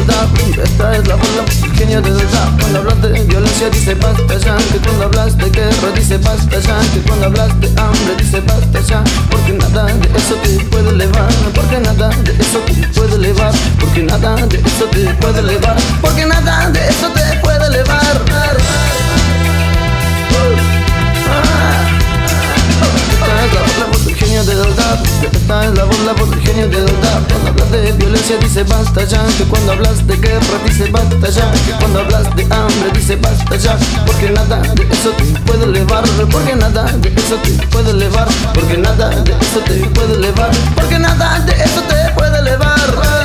dab. Esta es la bola, el genio del dab. Cuando hablas de violencia dice basta ya, que cuando hablas de guerra dice basta ya, que cuando hablas de hambre dice basta ya. Porque nada de eso te puede elevar, porque nada de eso te puede elevar, porque nada de eso te puede elevar, porque nada de eso te puede elevar. Esta es la bola por el genio del dab. Cuando hablas de violencia dice basta ya, que cuando hablas de guerra dice basta ya, que cuando hablas de hambre dice basta ya. Porque nada de eso te puede elevar, porque nada de eso te puede elevar, porque nada de eso te puede elevar, porque nada de eso te puede elevar.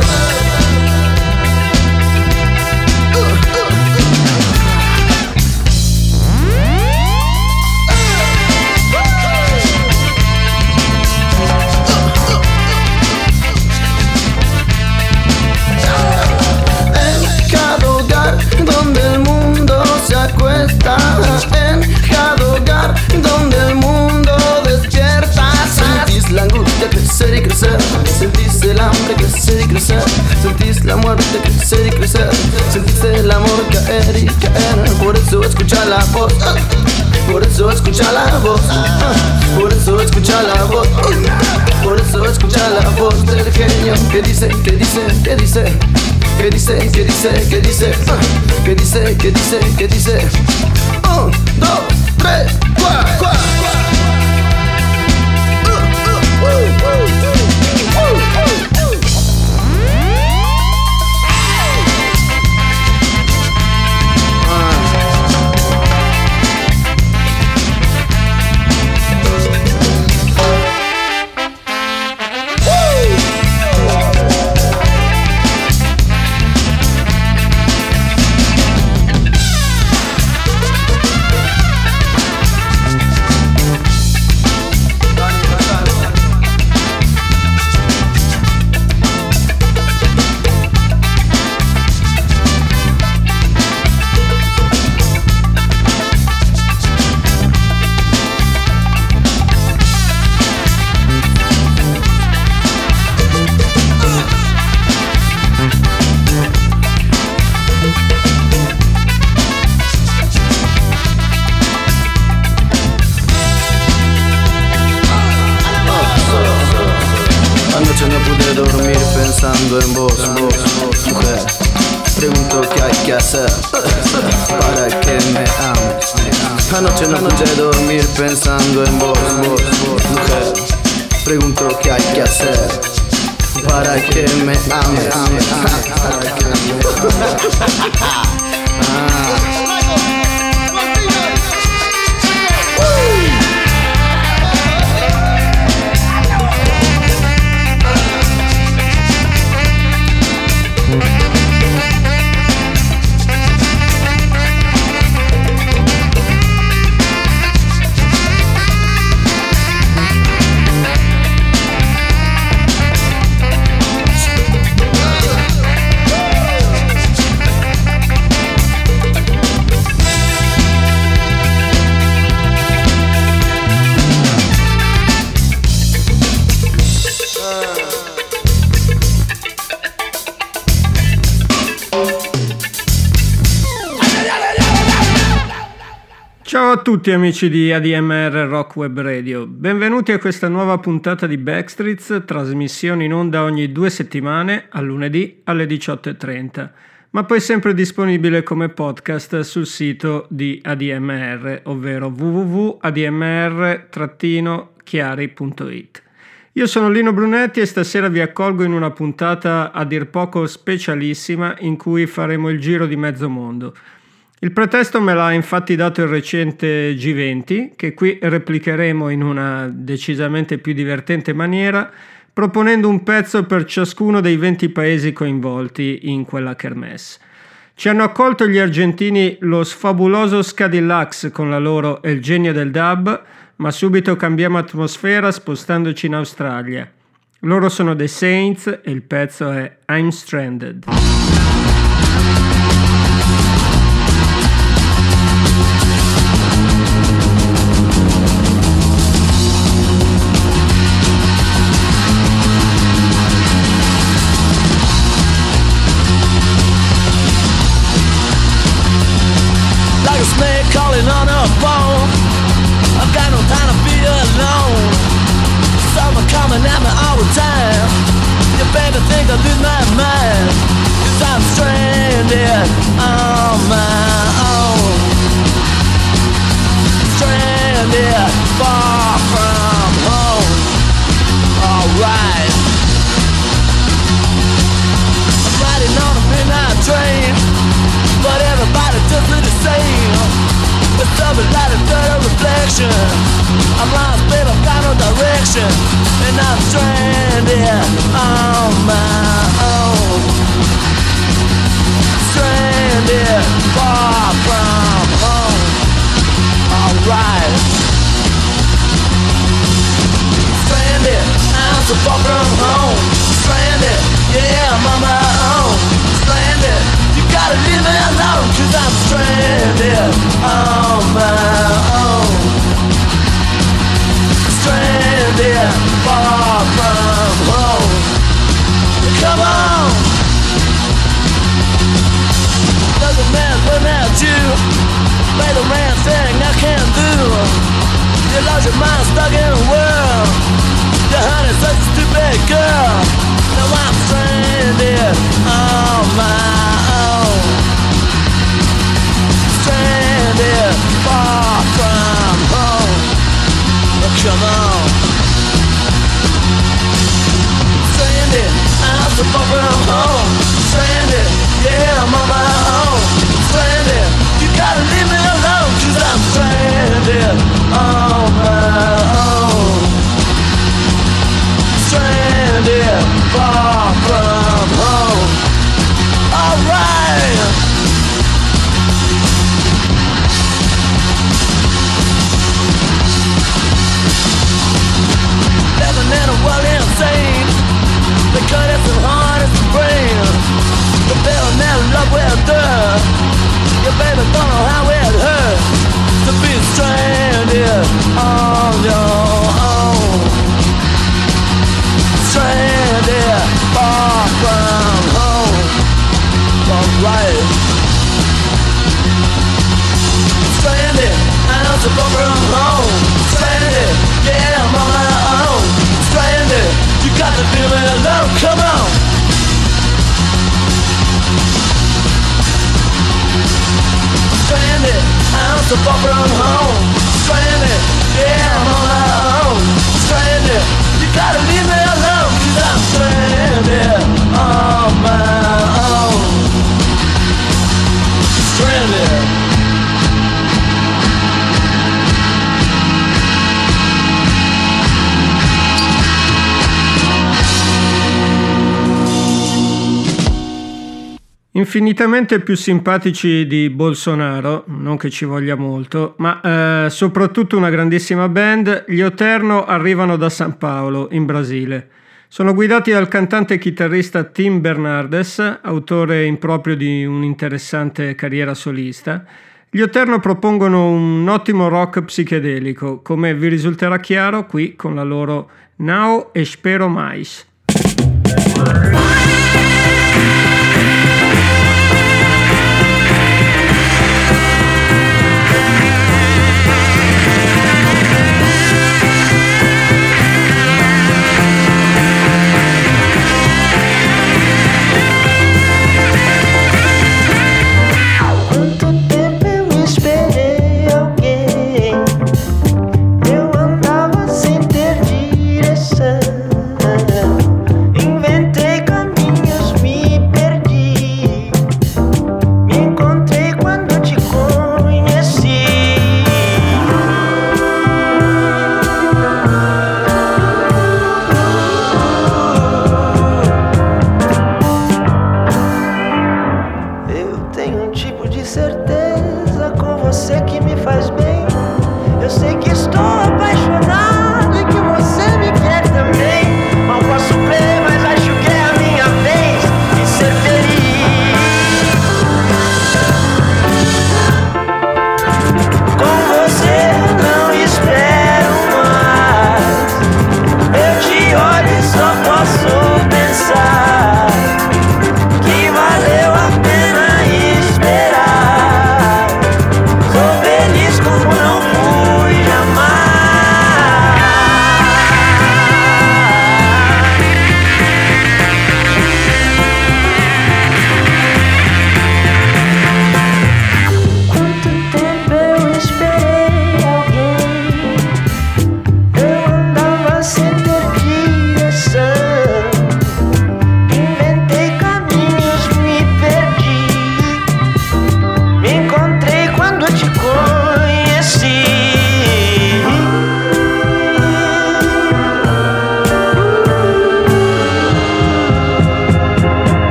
Donde el mundo se acuesta, en cada hogar donde el mundo despierta. Sentís la angustia crecer y crecer, sentís el hambre crecer y crecer, sentís la muerte crecer y crecer, sentís el amor caer y caer. Por eso escucha la voz, por eso escucha la voz, por eso escucha la voz, por eso escucha la voz del genio que dice, que dice, que dice, que dice, que dice, que dice, que dice, que dice, que dice. 1, 2, 3, 4. Pensando en vos, mujer, pregunto qué hay que hacer para que me ames. Anoche no pude dormir pensando en vos, mujer, pregunto qué hay que hacer para que me ames. Ciao a tutti amici di ADMR Rock Web Radio, benvenuti a questa nuova puntata di Backstreets, trasmissione in onda ogni 2 settimane, a lunedì alle 18:30, ma poi sempre disponibile come podcast sul sito di ADMR, ovvero www.admr-chiari.it. Io sono Lino Brunetti e stasera vi accolgo in una puntata a dir poco specialissima in cui faremo il giro di mezzo mondo. Il pretesto me l'ha infatti dato il recente G20, che qui replicheremo in una decisamente più divertente maniera, proponendo un pezzo per ciascuno dei 20 paesi coinvolti in quella kermesse. Ci hanno accolto gli argentini Los Fabulosos Cadillacs con la loro El genio del dub, ma subito cambiamo atmosfera spostandoci in Australia. Loro sono The Saints e il pezzo è I'm Stranded. time. You better think I lose my mind, 'cause I'm stranded on my own. Stranded far from home. Alright, I'm riding on a midnight train, but everybody does it the same. It's something like a dirty reflection. I'm lost, babe, I've got no direction, and I'm stranded on my own. Stranded far from home. Alright. Stranded, I'm so far from home. Stranded, yeah, I'm on my own. Stranded, you gotta leave me alone, 'cause I'm stranded on my own. Stranded far from home. Come on. Doesn't matter without you. Play the man thing I can't do. You lost your mind stuck in a world. Your honey's such a stupid girl. Now I'm stranded on my own. Stranded far from home. Oh, come on. Stranded, I'm so far from home. Stranded, yeah, I'm on my own. Stranded, you gotta leave me alone, 'cause I'm stranded on my own. Stranded far from home. Alright. Living in a world insane, because it's as hard as the brain. The feeling in love with her. Your baby don't know how it hurts to be stranded on your own. Stranded far from home. Alright. Stranded, I'm so far from home. Stranded, yeah, I'm on my own. Stranded, you got to leave me alone, come on. Stranded, I'm so far from home. Stranded, yeah, I'm on my own. Stranded, you gotta leave me alone, 'cause I'm stranded on my own. Stranded. Infinitamente più simpatici di Bolsonaro, non che ci voglia molto, ma soprattutto una grandissima band, gli Oterno arrivano da San Paolo, in Brasile. Sono guidati dal cantante e chitarrista Tim Bernardes, autore improprio di un'interessante carriera solista. Gli Oterno propongono un ottimo rock psichedelico, come vi risulterà chiaro qui con la loro Now Espero Mais. Inventei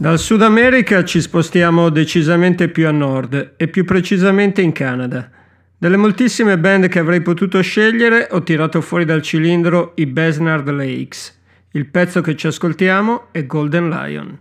Dal Sud America ci spostiamo decisamente più a nord e più precisamente in Canada. Delle moltissime band che avrei potuto scegliere ho tirato fuori dal cilindro i Besnard Lakes. Il pezzo che ci ascoltiamo è Golden Lion.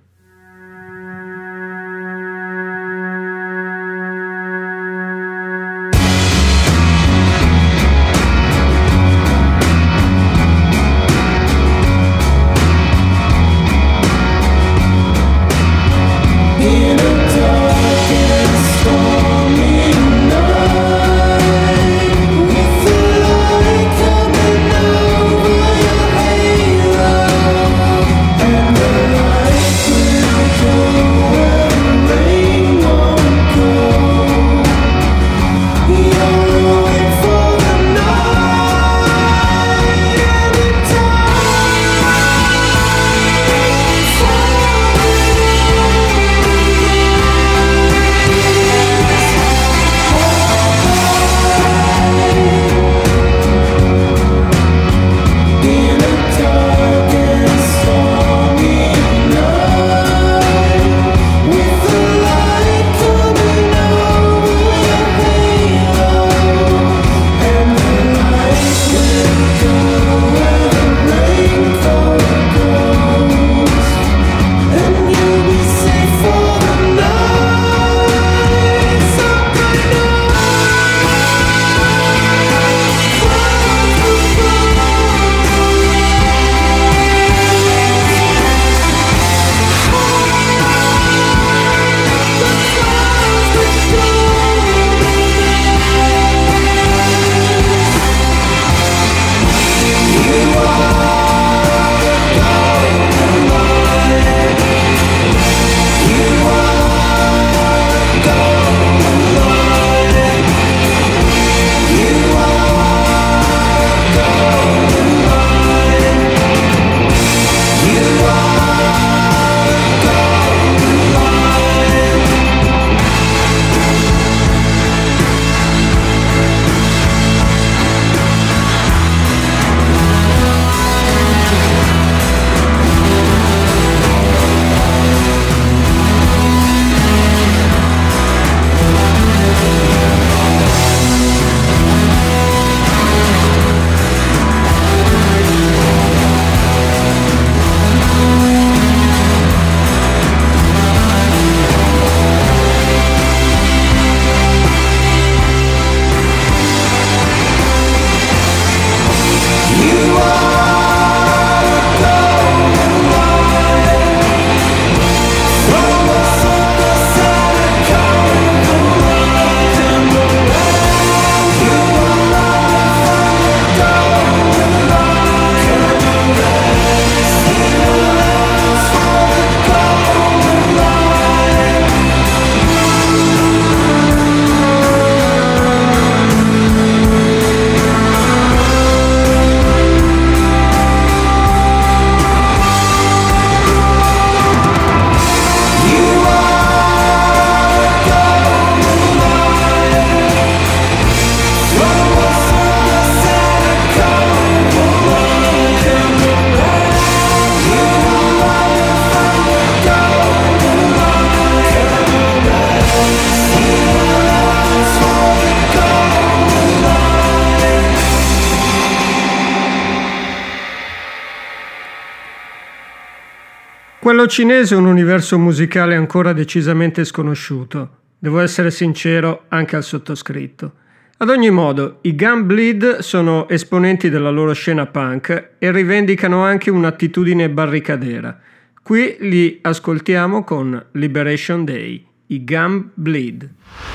Quello cinese è un universo musicale ancora decisamente sconosciuto. Devo essere sincero anche al sottoscritto. Ad ogni modo, i Gunbleed sono esponenti della loro scena punk e rivendicano anche un'attitudine barricadera. Qui li ascoltiamo con Liberation Day, i Gunbleed.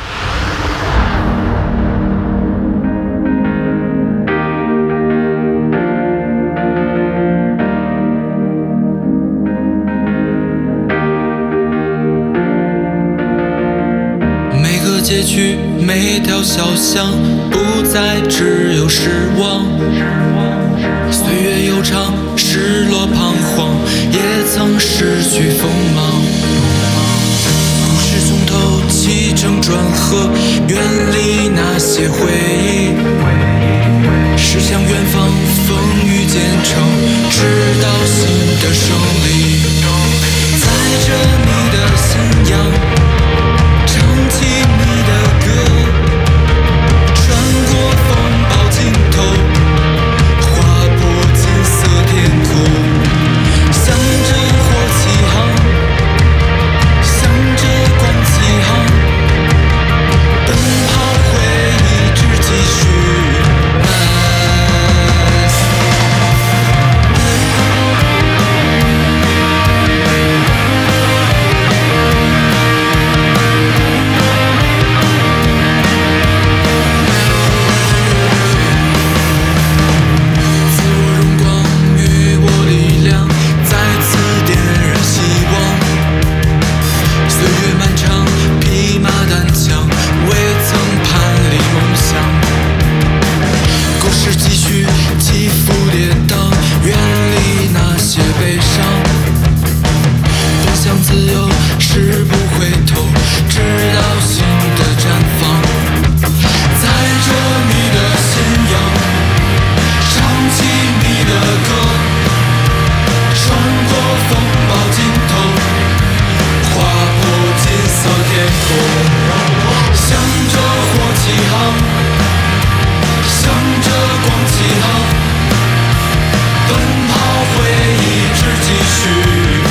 每个街区，每条小巷，不再只有失望。岁月悠长，失落彷徨，也曾失去锋芒。故事从头起承转合，远离那些回忆，驶向远方，风雨兼程，直到新的胜利。在这里。 些悲伤，不想自由是不回头，直到新的绽放。载着你的信仰，唱起你的歌，穿过风暴尽头，划破金色天空，向着火起航，向着光起航。奔跑，会一直继续。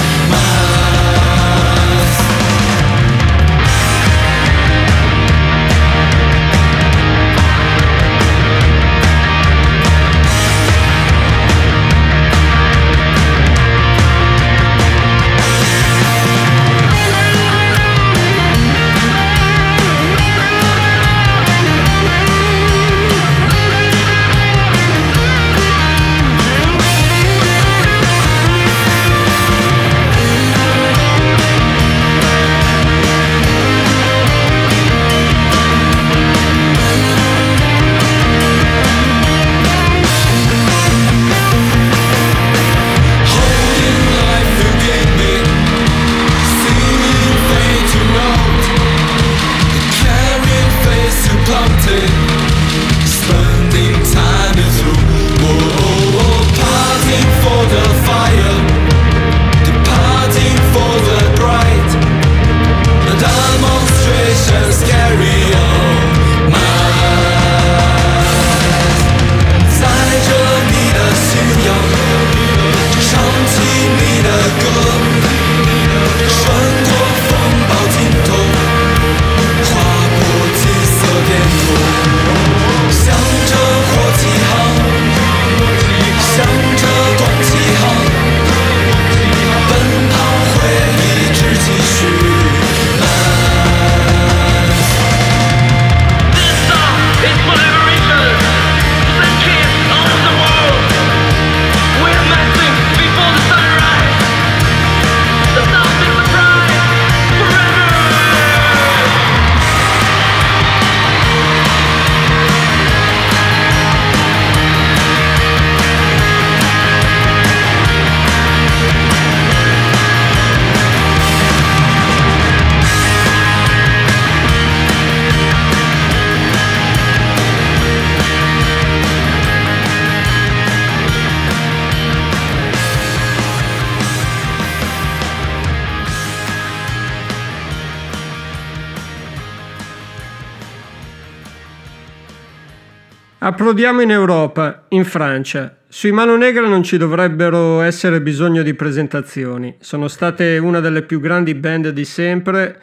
Approdiamo in Europa, in Francia. Sui Mano Negra non ci dovrebbero essere bisogno di presentazioni. Sono state una delle più grandi band di sempre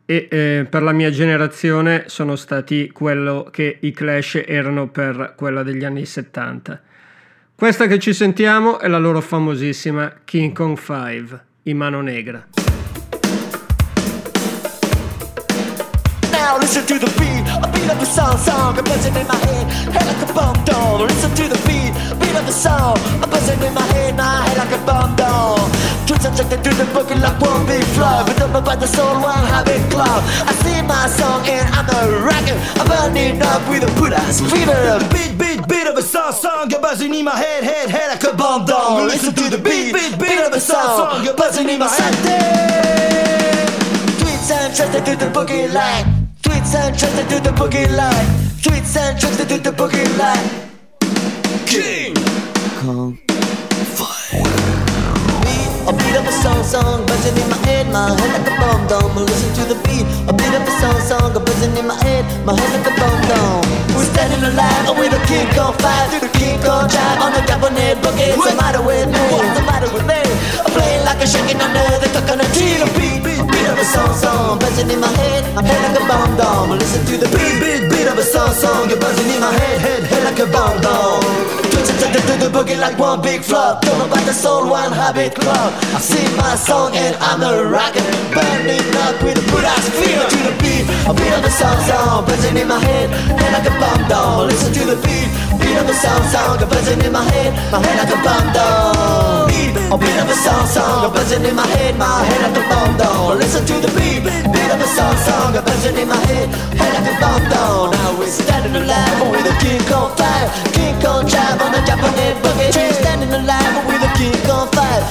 e per la mia generazione sono stati quello che i Clash erano per quella degli anni 70. Questa che ci sentiamo è la loro famosissima King Kong 5, i Mano Negra. Now listen to the beat, a beat of the song, a buzzing in my head like a bomb doll. Listen to the beat of the song, a buzzing in my head like a bomb doll. Twins subjected to the boogie like one big flow, but don't know about the soul, one habit club. I sing my song and I'm a rocker, I'm burning up with a put-ass fever. Beat of a song, you're buzzing in my head like a bomb doll. Listen to the beat of a song, you're buzzing in my head. Tweets and trusted to the boogie line. Tweets and trusted to the boogie line. Tweets and trusted to the boogie line. King Kong 5. A beat of a song, buzzing in my head like a bomb dome. Listen to the beat, a beat of a song, buzzing in my head like a bomb dome. We're standing alive with a King Kong 5 through the King Kong drive on the cabinet boogie. What's the matter with me? What's the matter with me? I'm playing like a shaking under the coconut tree. The beat of a song, buzzing in my head like a bomb dome. Listen to the beat of a song, you're buzzing in my head like a bomb dome. To the boogie like one big flop. Don't know about the soul, one habit club. I sing my song and I'm a rocker, burning up with a put-ass fever. To the beat, a beat of a song, buzzing in my head like a bomb down. Listen to the beat of a song, buzzing in my head like a bomb down. A beat of a song, buzzing in my head like a bomb down. Listen to the beat of a song, buzzing in my head like a bomb down. Now we're standing alive with a King Kong 5, King Kong drive on the Japanese boogie. We're standing alive with a King Kong 5,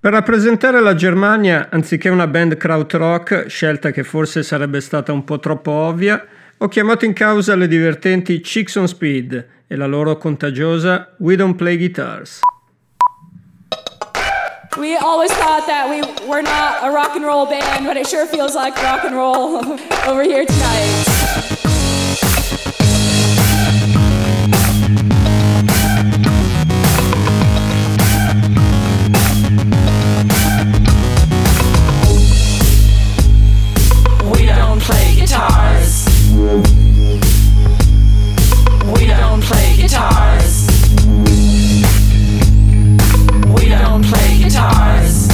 Per rappresentare la Germania, anziché una band krautrock, scelta che forse sarebbe stata un po' troppo ovvia, ho chiamato in causa le divertenti Chicks on Speed e la loro contagiosa We Don't Play Guitars. We always thought that we were not a rock and roll band, but it sure feels like rock and roll over here tonight. We don't play guitars. We don't play guitars. We don't play guitars.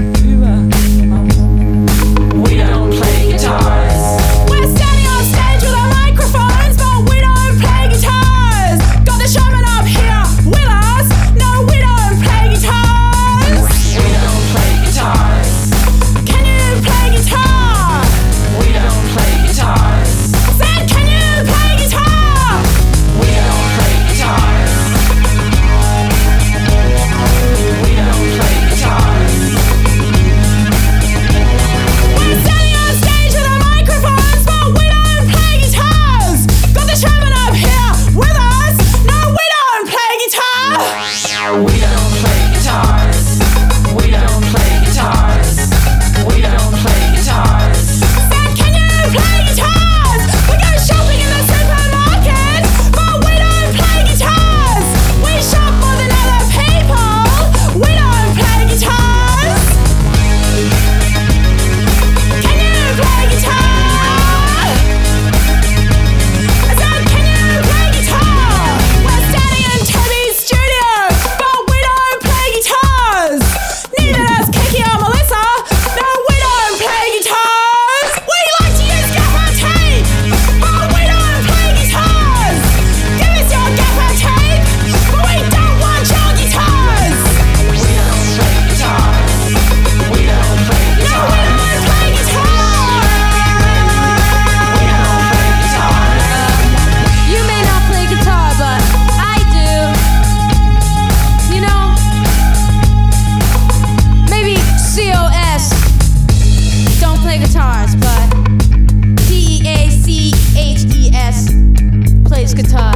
We don't play guitars. We're standing on stage with our microphones, but we don't play guitars. Got the showman up here with us. No, we don't play guitars. We don't play guitars. Can you play guitar? We don't play guitars. Said, can you play guitar? We don't play guitars. We don't play guitars. We're standing on stage with our microphones, but we don't play guitars. Got the showman up here with us. No, we don't play guitar. We don't play guitars. We don't play guitars. We don't play guitars. Said, can you play guitars? We go shopping in the supermarket, but we don't play guitars. We shop more than other people. We don't play guitars. Can you play guitar? I said, can you play guitar? We're standing in Toby's studio, but we don't play guitars. Neither does Kiki or Melissa. No, we don't play guitars. We like to use gaffer tape, but we don't play guitars. Give us your gaffer tape, but we don't want your guitars. We don't play guitars. We don't play No, we guitars. don't play guitar. We don't play guitars. You may not play guitar, but I do. You know, maybe COS don't play guitars, but DEACHES plays guitar.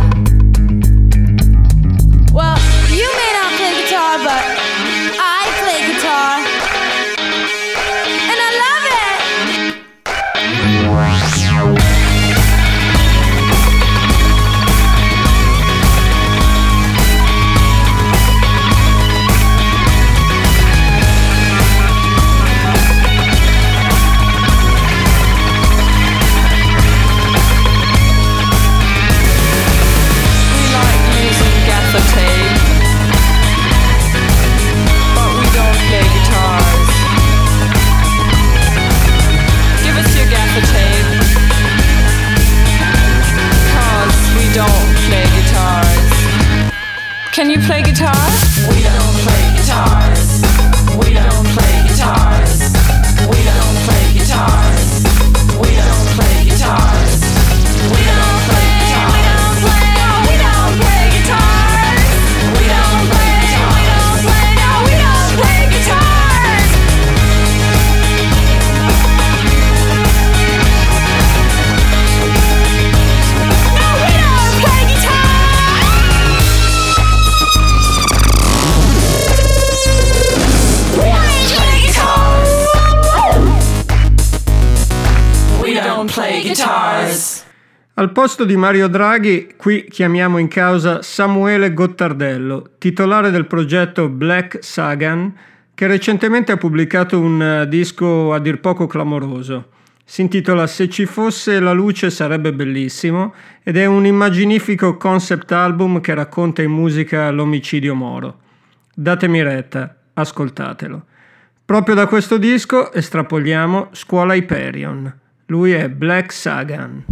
Well, you may not play guitar, but I play guitar. And I love it! We like using gaffer tape, but we don't play guitars. Give us your gaffer tape, 'cause we don't play guitars. Can you play guitar? We don't play guitars. We don't play guitars. We don't play guitars. We don't play guitars. We don't play guitars. We don't play guitars. We don't play guitars. No, we don't play guitars. We don't play guitars. Al posto di Mario Draghi, qui chiamiamo in causa Samuele Gottardello, titolare del progetto Black Sagan, che recentemente ha pubblicato un disco a dir poco clamoroso. Si intitola Se ci fosse la luce sarebbe bellissimo ed è un immaginifico concept album che racconta in musica l'omicidio Moro. Datemi retta, ascoltatelo. Proprio da questo disco estrapoliamo Scuola Hyperion. Lui è Black Sagan.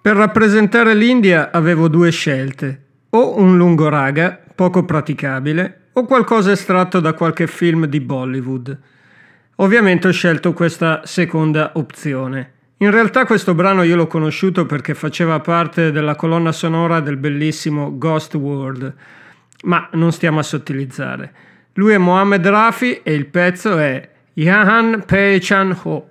Per rappresentare l'India avevo due scelte, o un lungo raga, poco praticabile, o qualcosa estratto da qualche film di Bollywood. Ovviamente ho scelto questa seconda opzione. In realtà questo brano io l'ho conosciuto perché faceva parte della colonna sonora del bellissimo Ghost World, ma non stiamo a sottilizzare. Lui è Mohammed Rafi e il pezzo è Yahan Pehchan Ho.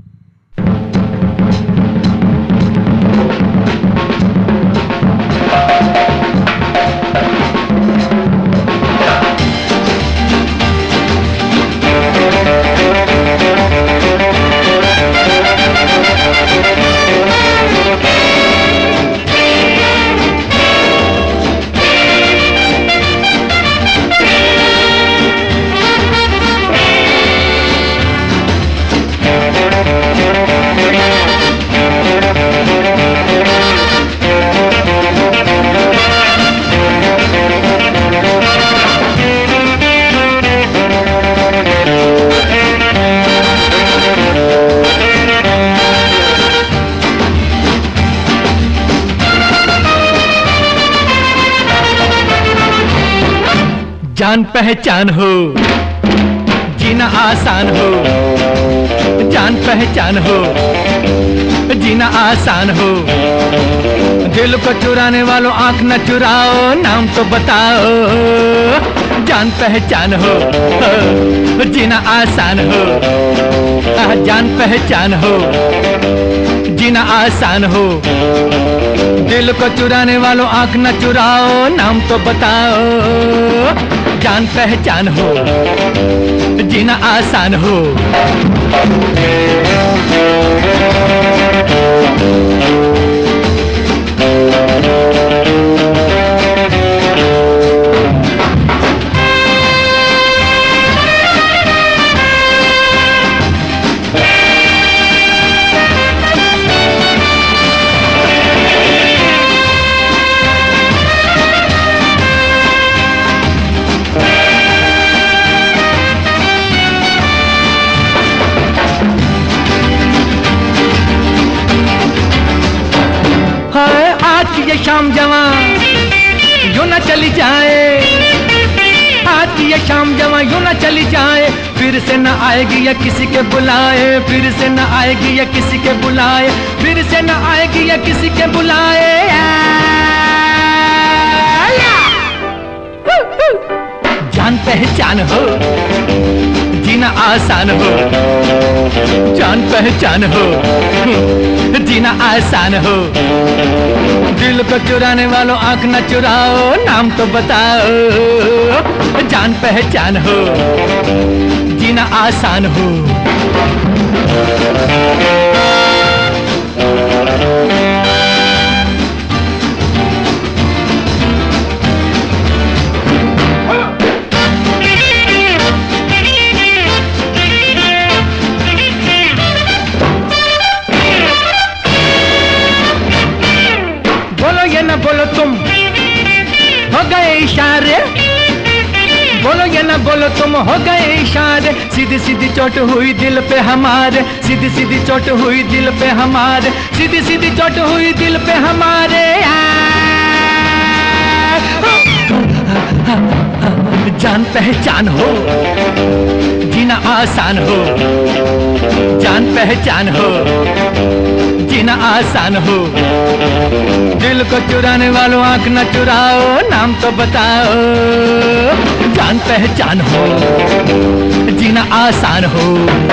जान पहचान हो जीना आसान हो, जान पहचान हो जीना आसान हो, दिल को चुराने वालों आंख न चुराओ, नाम तो बताओ, जान पहचान हो जीना आसान हो, जान पहचान हो जीना आसान हो, दिल को चुराने वालों आंख न चुराओ, नाम तो बताओ, जान पहचान हो जीना आसान हो। ये शाम जवां यूं न चली जाए, आज की ये शाम जवां यूं न चली जाए, फिर से न आएगी या किसी के बुलाए, फिर से न आएगी या किसी के बुलाए, फिर से न आएगी या किसी के बुलाए, जान पहचान हो जीना आसान हो, जान पहचान हो जीना आसान हो, दिल को चुराने वालों आंख न चुराओ, नाम तो बताओ, जान पहचान हो जीना आसान हो। बोलो तुम हो गए इशारे, बोलो या ना बोलो तुम हो गए इशारे, सीधी सीधी चोट हुई दिल पे हमारे, सीधी सीधी चोट हुई दिल पे हमारे, सीधी सीधी चोट हुई दिल पे हमारे, जान पहचान हो जीना आसान हो, जान पहचान हो जीना आसान हो, दिल को चुराने वालों आंख न चुराओ, नाम तो बताओ, जान पहचान हो जीना आसान हो।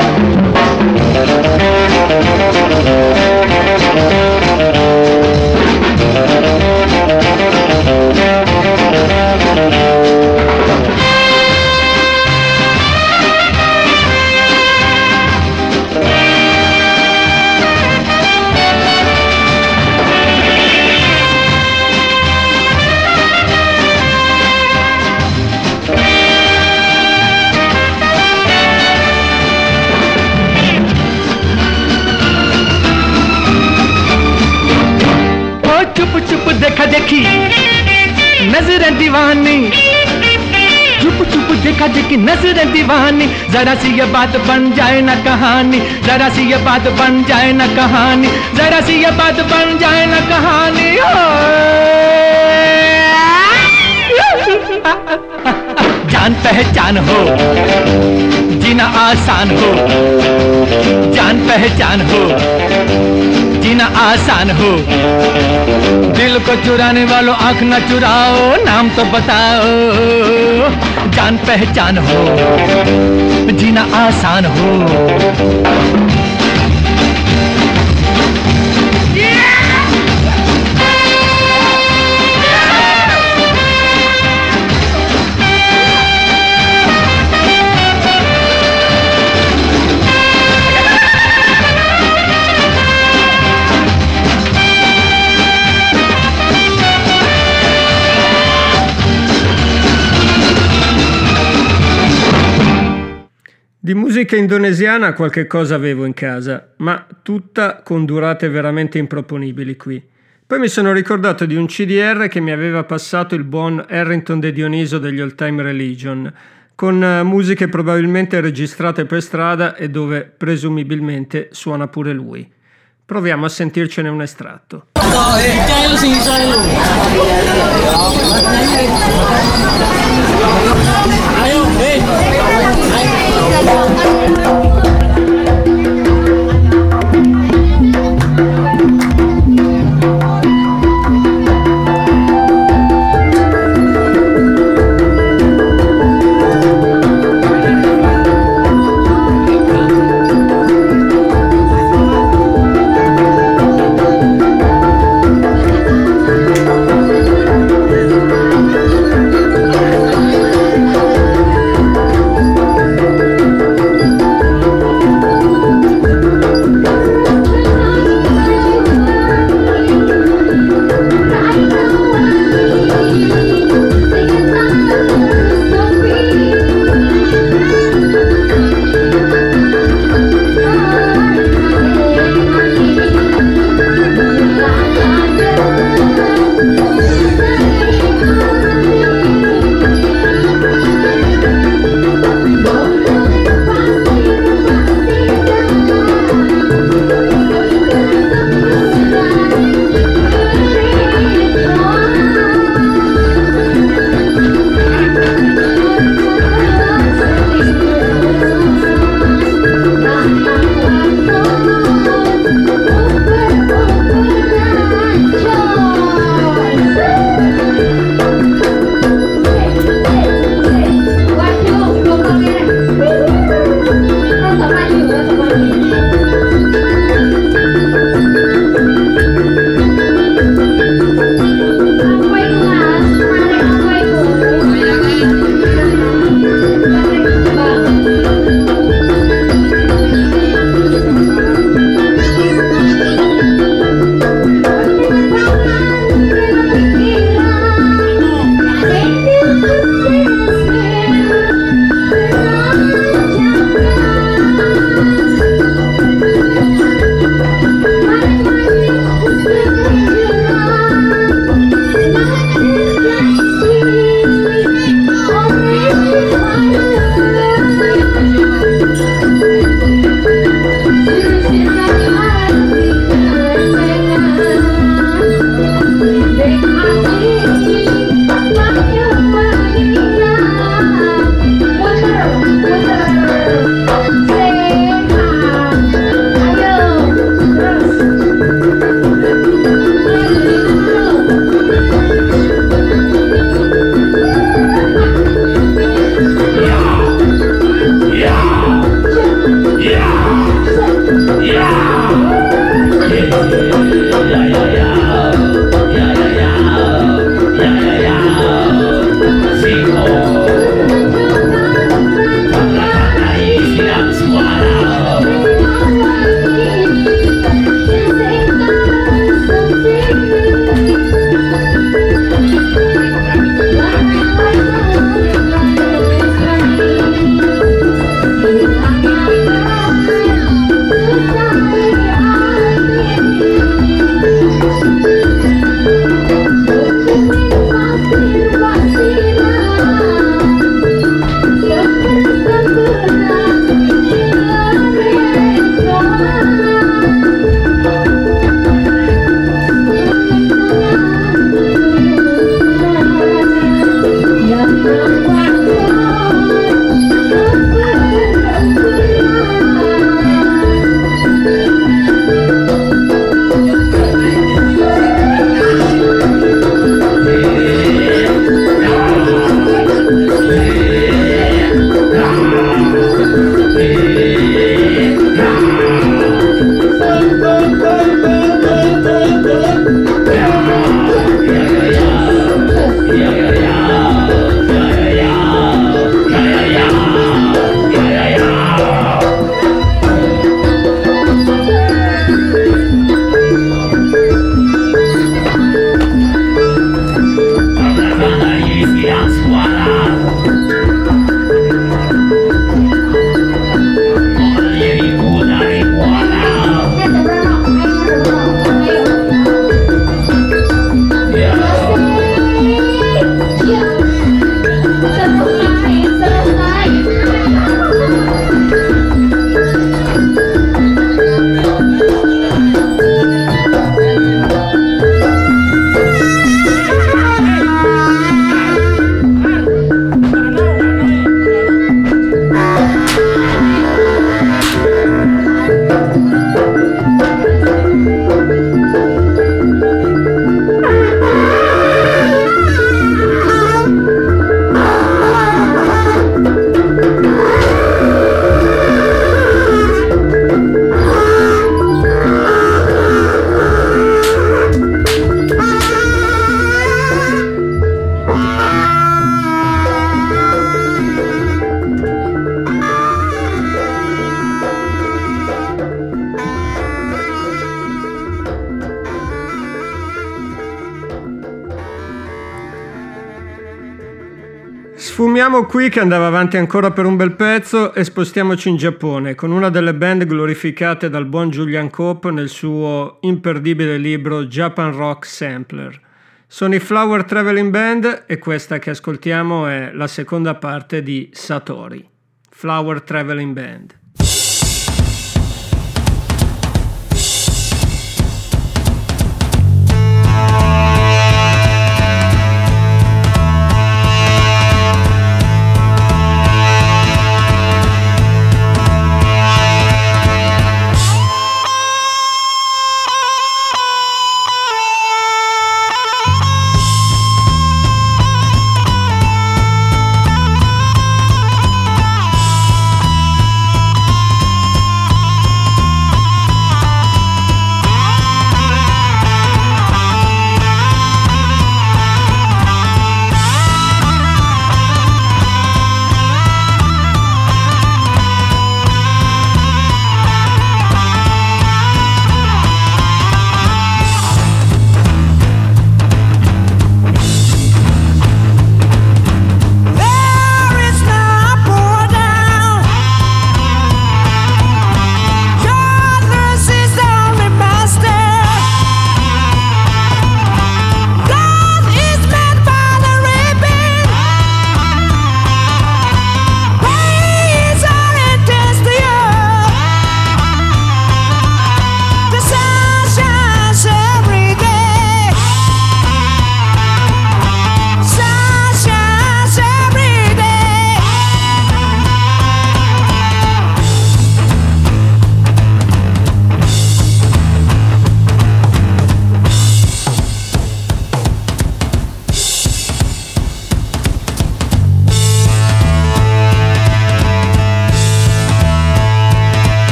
चुप चुप देखा देखी नजरें दीवानी, चुप चुप खज की नजरें दीवानी, जरा सी ये बात बन जाए ना कहानी, जरा सी ये बात बन जाए ना कहानी, जरा सी ये बात बन जाए ना कहानी। जान पहचान हो, जीना आसान हो, जान पहचान हो, जीना आसान हो। दिल को चुराने वालों आंख न चुराओ, नाम तो बताओ। जान पहचान हो, जीना आसान हो। Di musica indonesiana qualche cosa avevo in casa, ma tutta con durate veramente improponibili qui. Poi mi sono ricordato di un CDR che mi aveva passato il buon Harrington De Dioniso degli Old Time Religion, con musiche probabilmente registrate per strada e dove presumibilmente suona pure lui. Proviamo a sentircene un estratto. Sfumiamo qui che andava avanti ancora per un bel pezzo e spostiamoci in Giappone con una delle band glorificate dal buon Julian Cope nel suo imperdibile libro Japan Rock Sampler. Sono i Flower Traveling Band e questa che ascoltiamo è la seconda parte di Satori. Flower Traveling Band.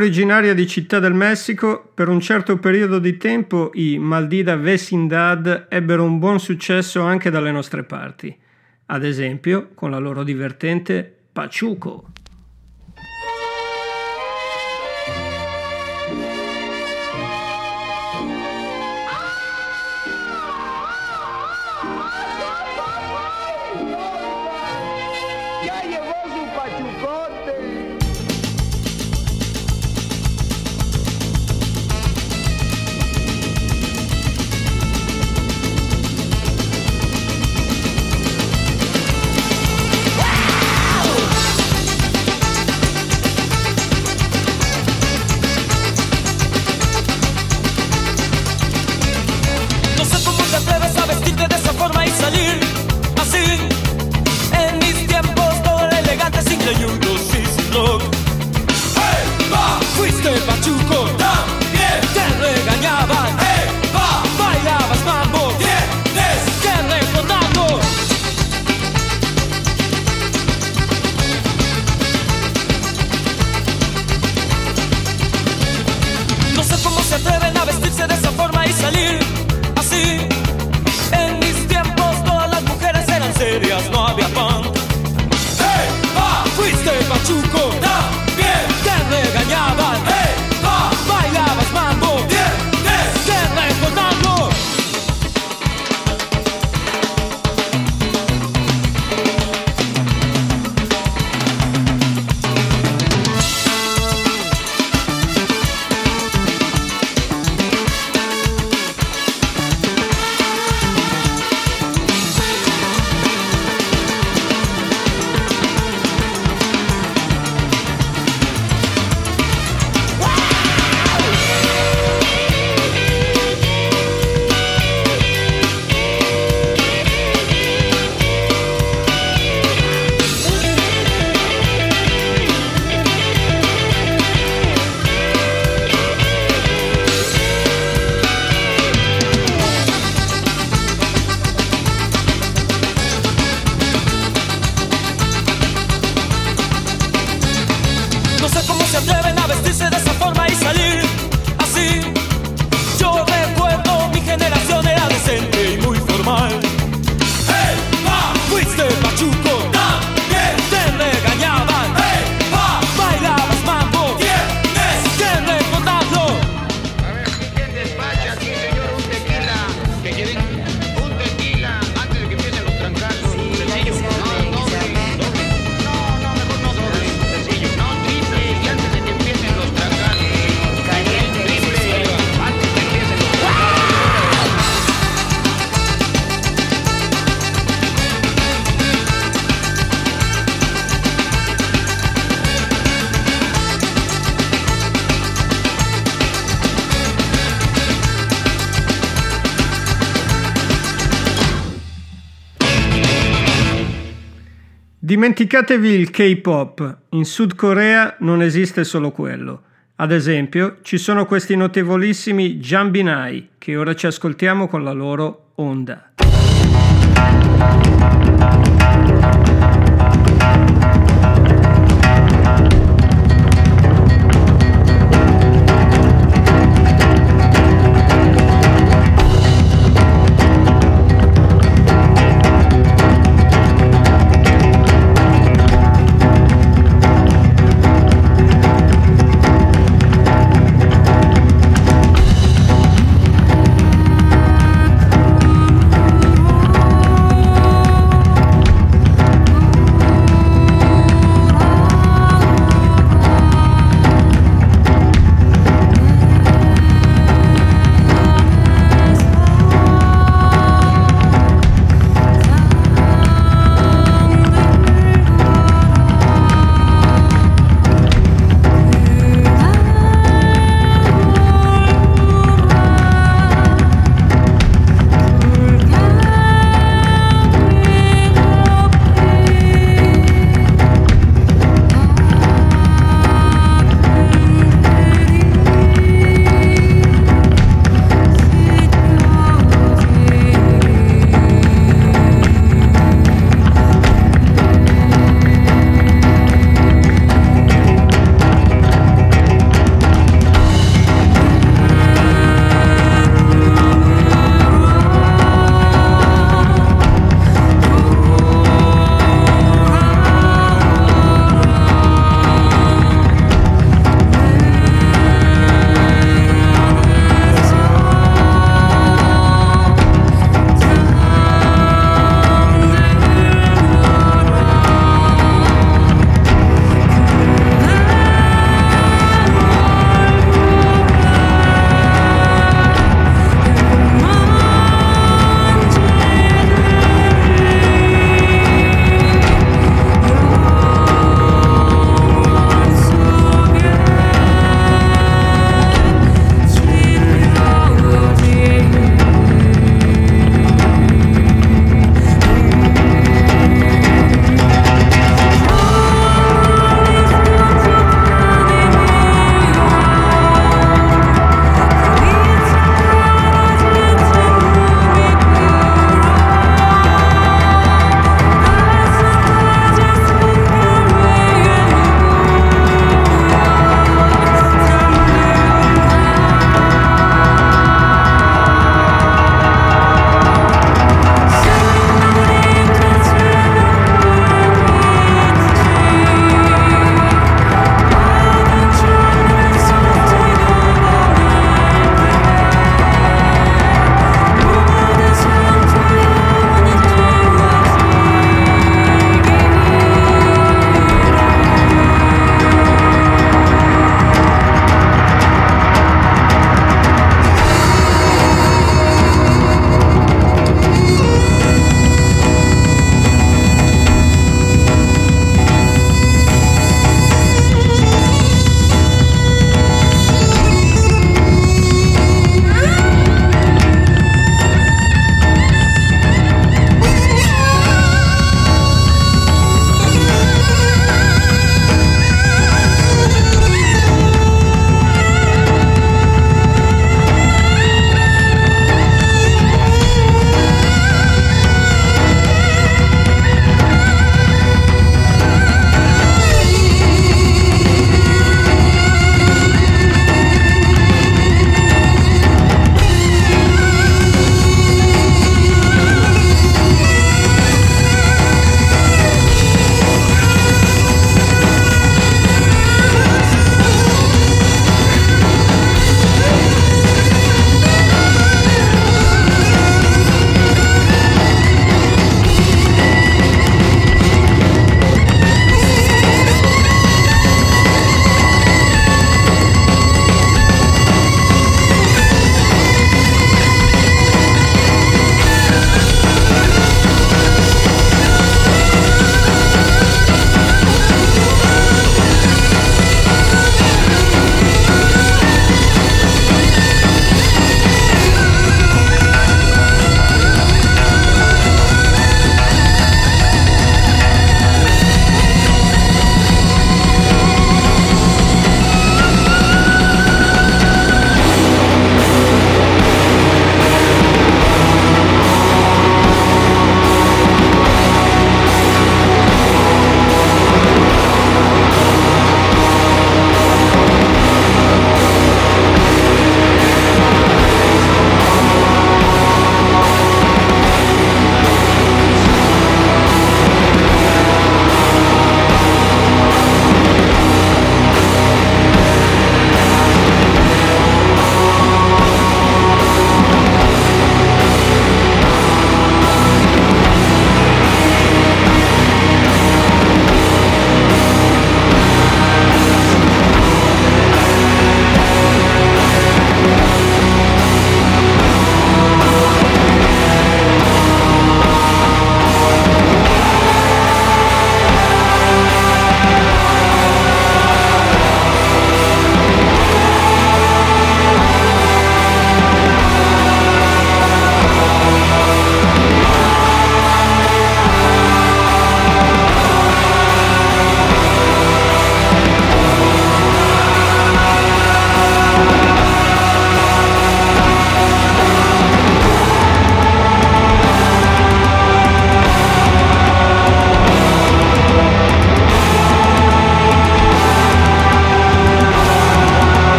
originaria di Città del Messico, per un certo periodo di tempo i Maldita Vecindad ebbero un buon successo anche dalle nostre parti, ad esempio con la loro divertente Pachuco. Dimenticatevi il K-pop, in Sud Corea non esiste solo quello. Ad esempio, ci sono questi notevolissimi Jambinai, che ora ci ascoltiamo con la loro Onda.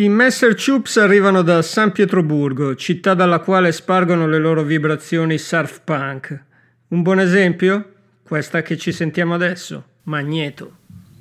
I Messer Chups arrivano da San Pietroburgo, città dalla quale spargono le loro vibrazioni surf punk. Un buon esempio? Questa che ci sentiamo adesso, Magneto.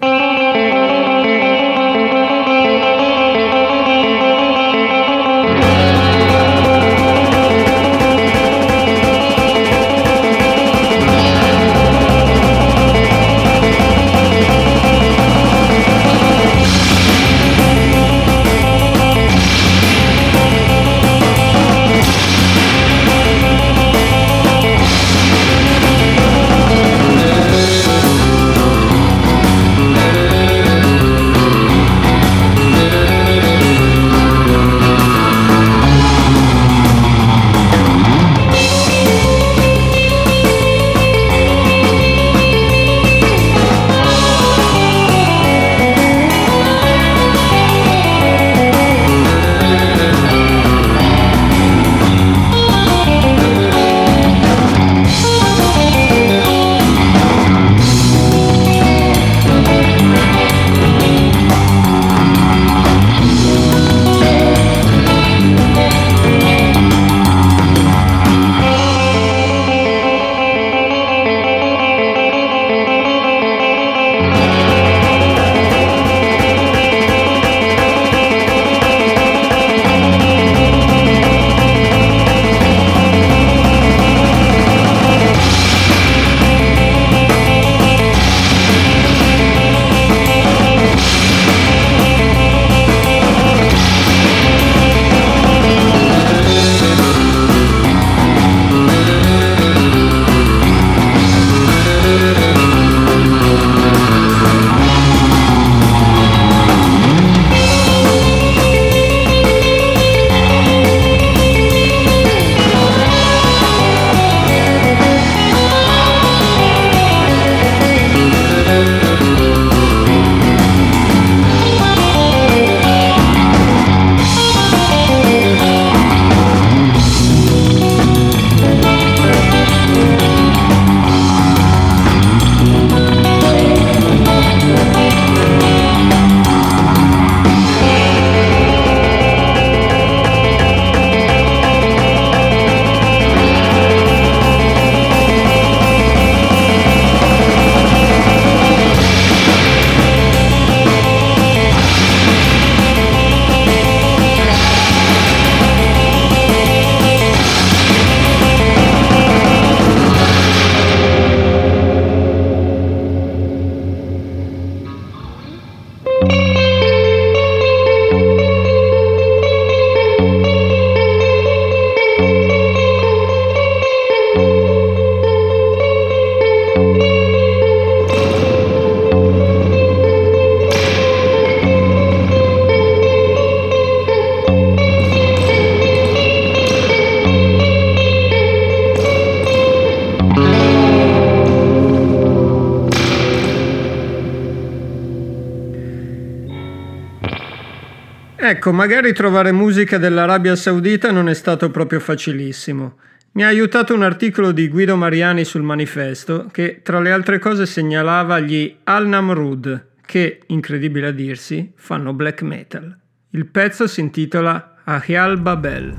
Ecco, magari trovare musica dell'Arabia Saudita non è stato proprio facilissimo. Mi ha aiutato un articolo di Guido Mariani sul Manifesto che, tra le altre cose, segnalava gli Al-Namrud, che, incredibile a dirsi, fanno black metal. Il pezzo si intitola Ahial Babel.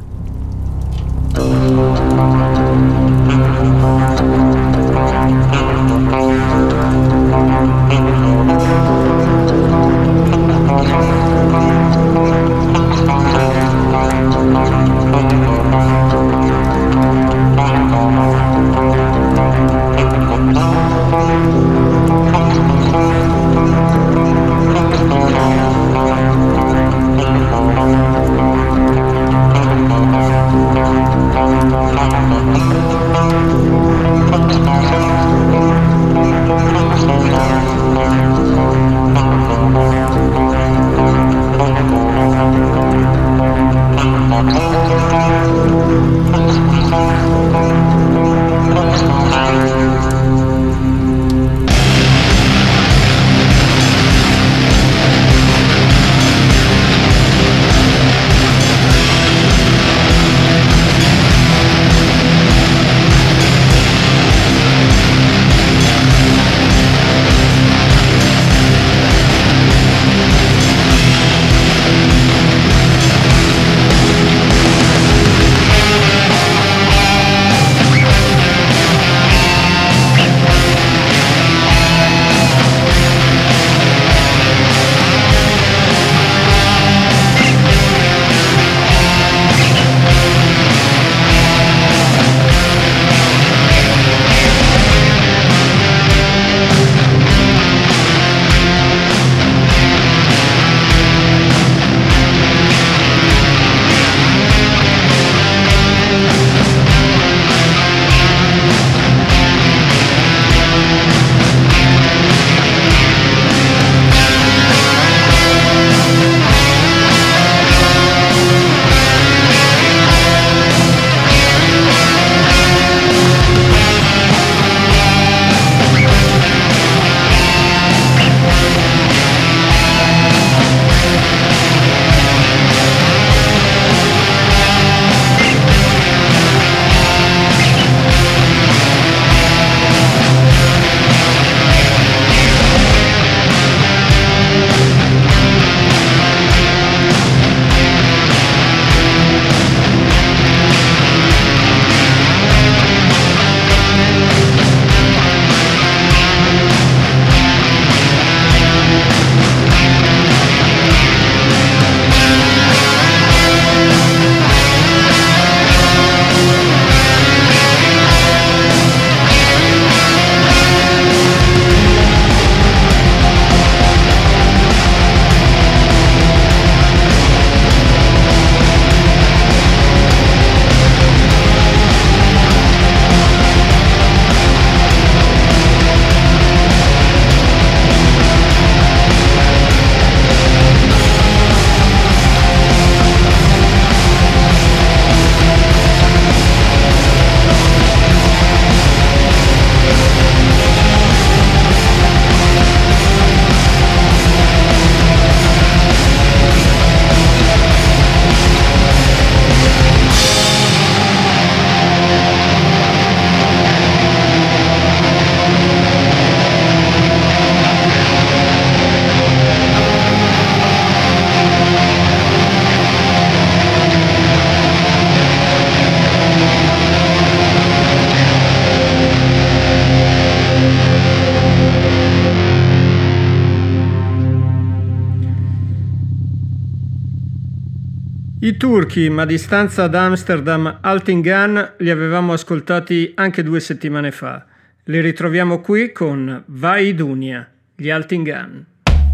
I turchi, ma di stanza ad Amsterdam, Altingan, li avevamo ascoltati anche 2 settimane fa. Li ritroviamo qui con Vai Dunia, gli Altingan.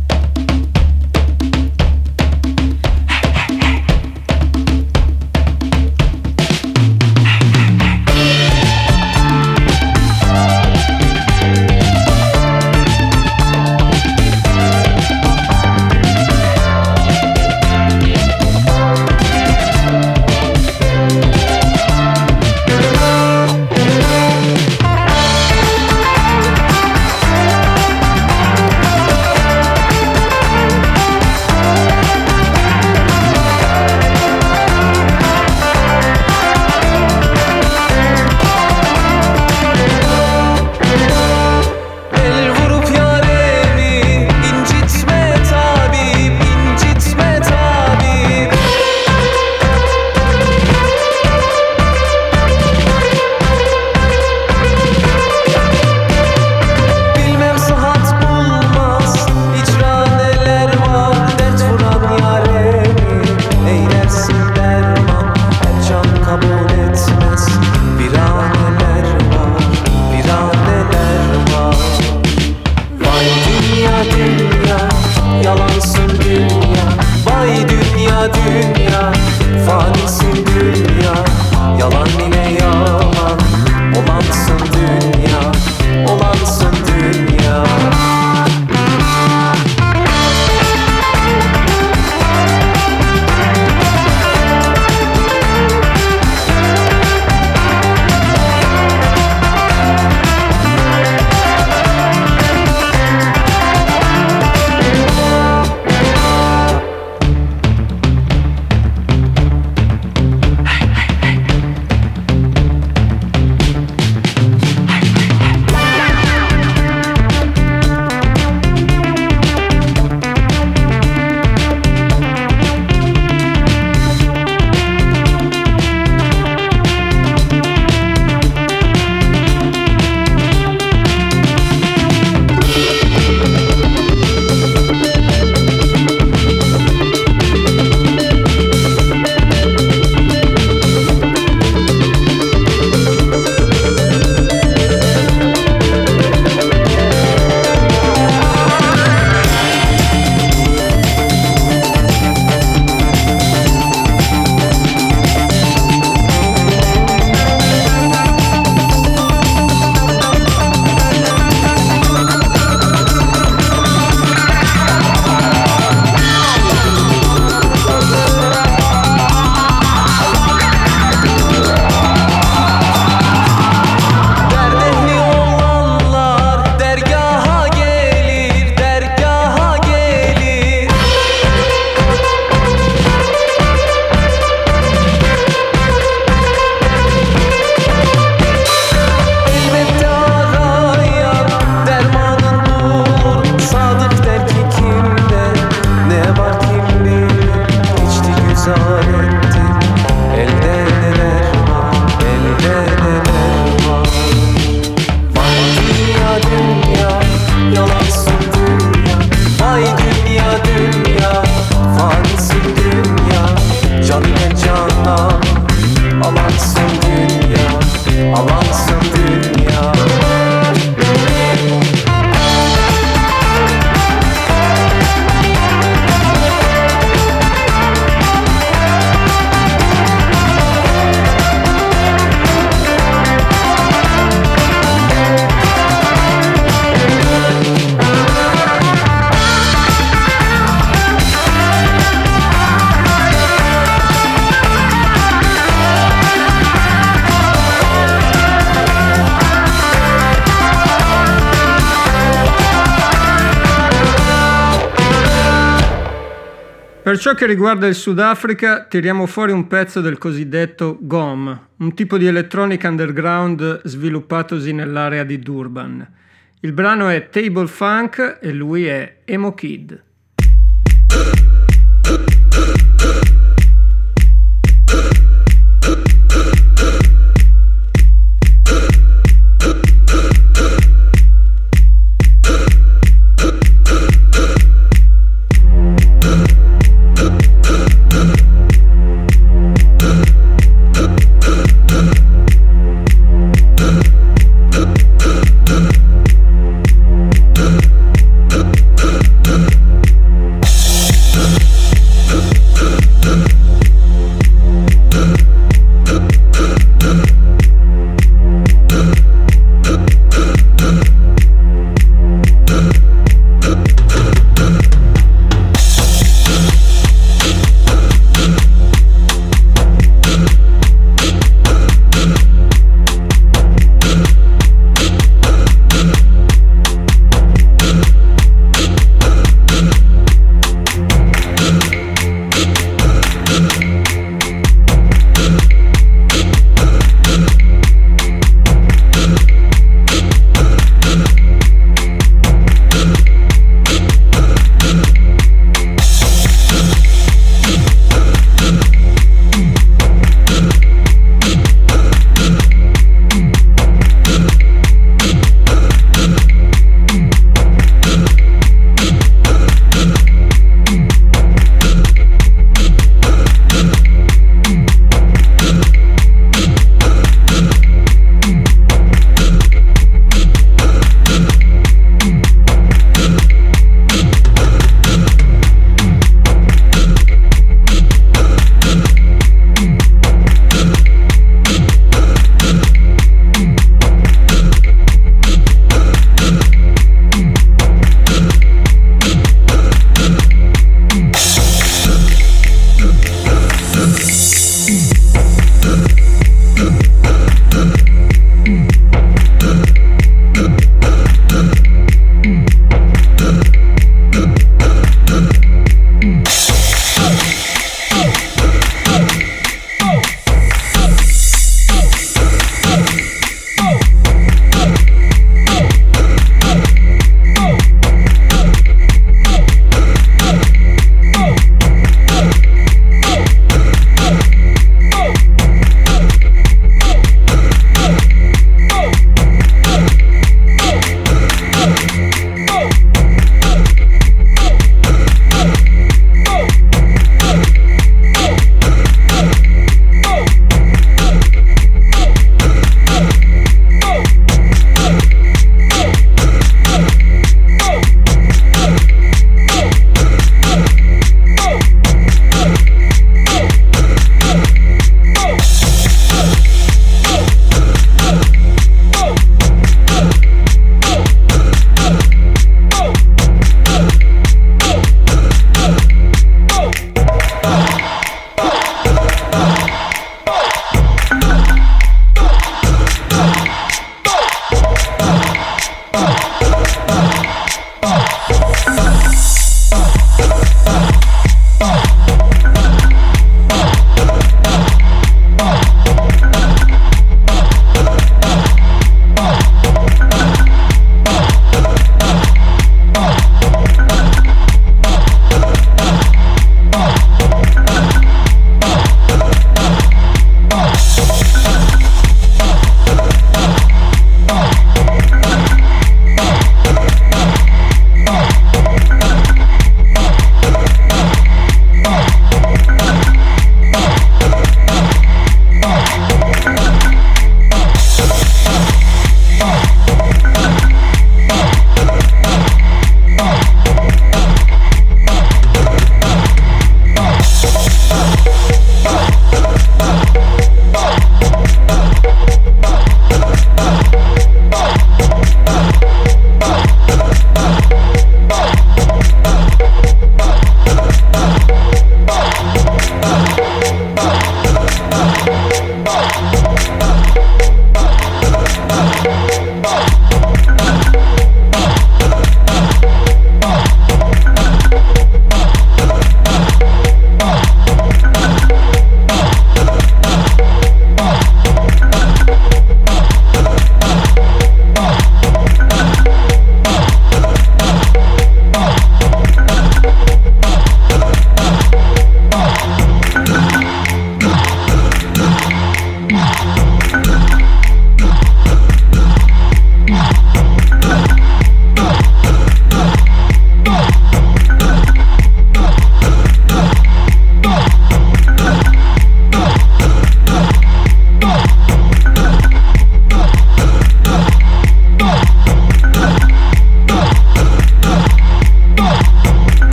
Per ciò che riguarda il Sudafrica, tiriamo fuori un pezzo del cosiddetto GOM, un tipo di elettronica underground sviluppatosi nell'area di Durban. Il brano è Table Funk e lui è Emo Kid.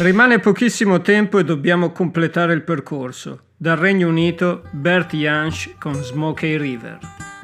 Rimane pochissimo tempo e dobbiamo completare il percorso. Dal Regno Unito, Bert Jansch con Smokey River.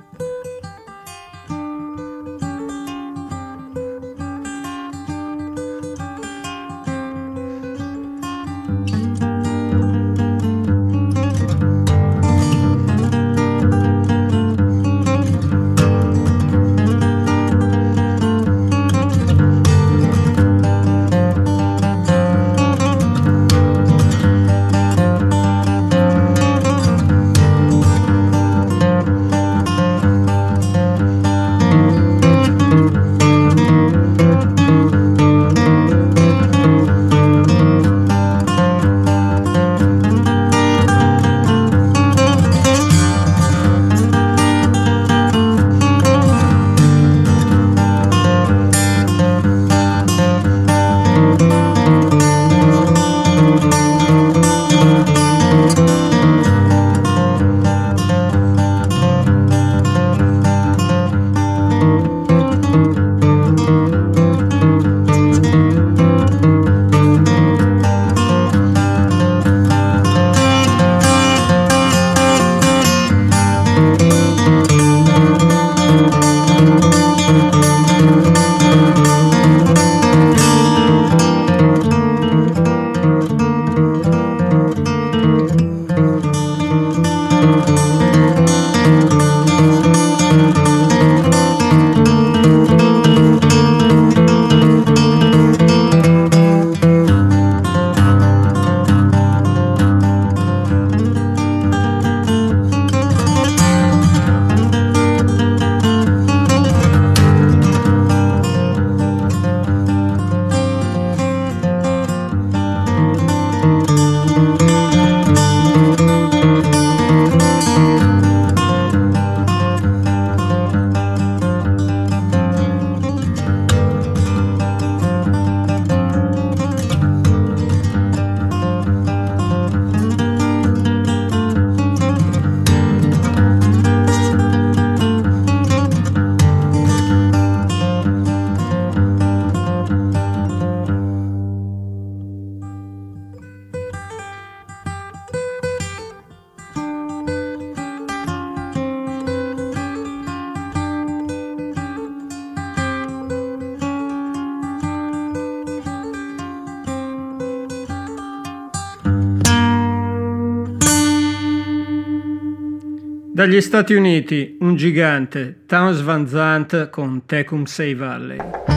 Dagli Stati Uniti, un gigante, Townes Van Zandt con Tecumseh Valley.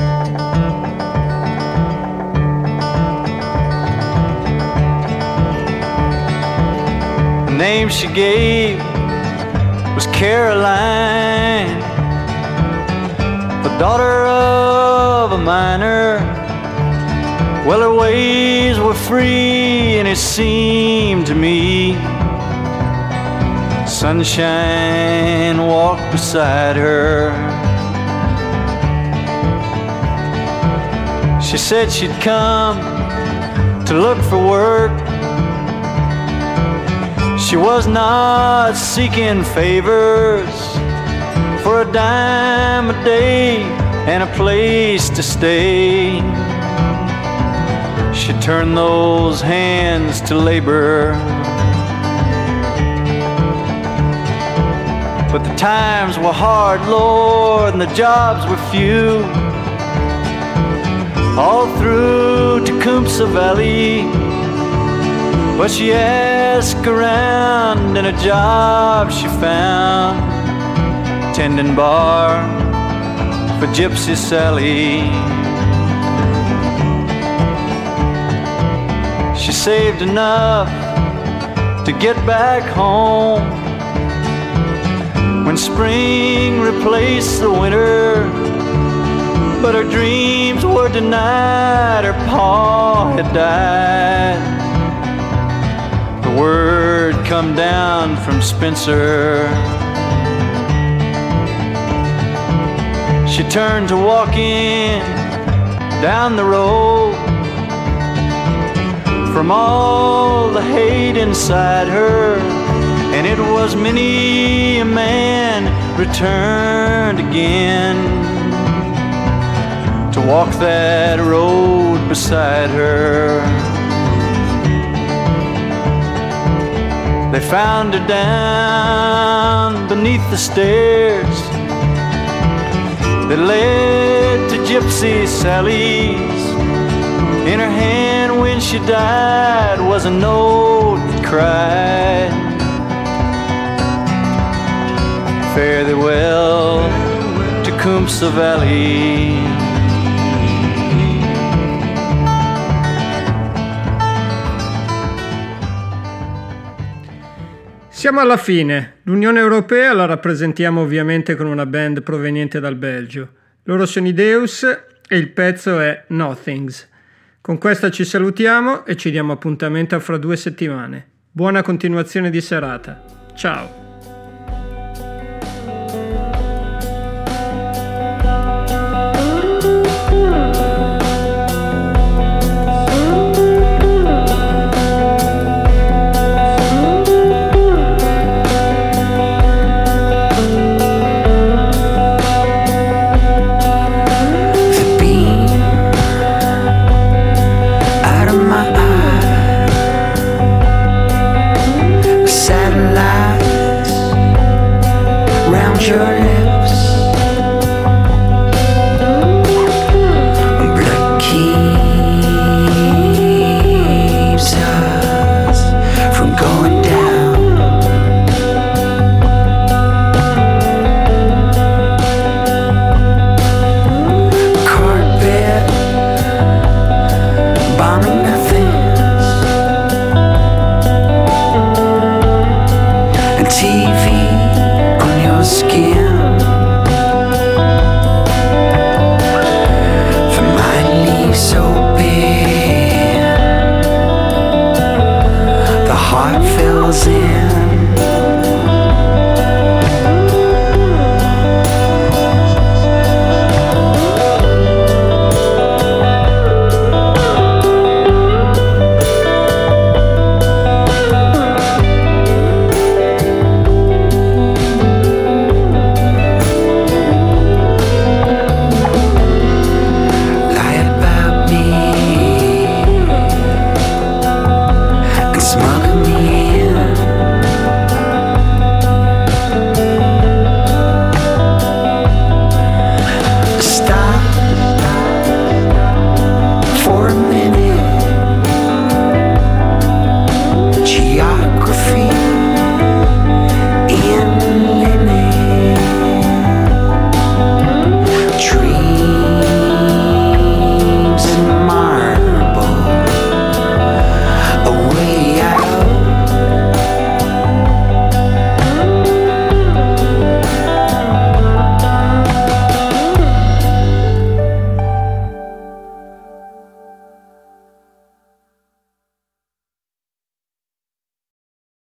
The name she gave was Caroline, the daughter of a miner. Well, her ways were free, and it seemed to me sunshine walked beside her. She said she'd come to look for work. She was not seeking favors for a dime a day and a place to stay. She turned those hands to labor, but the times were hard, Lord, and the jobs were few. All through Tecumseh Valley, but she asked around, and a job she found, tending bar for Gypsy Sally. She saved enough to get back home when spring replaced the winter, but her dreams were denied. Her pa had died. The word come down from Spencer. She turned to walking down the road from all the hate inside her, and it was many a man returned again to walk that road beside her. They found her down beneath the stairs that led to Gypsy Sally's. In her hand when she died was a note that cried, fare thee well, Tecumseh Valley. Siamo alla fine. L'Unione Europea la rappresentiamo ovviamente con una band proveniente dal Belgio. Loro sono i Deus e il pezzo è Nothings. Con questa ci salutiamo e ci diamo appuntamento a fra 2 settimane. Buona continuazione di serata. Ciao! Satellites round your lips.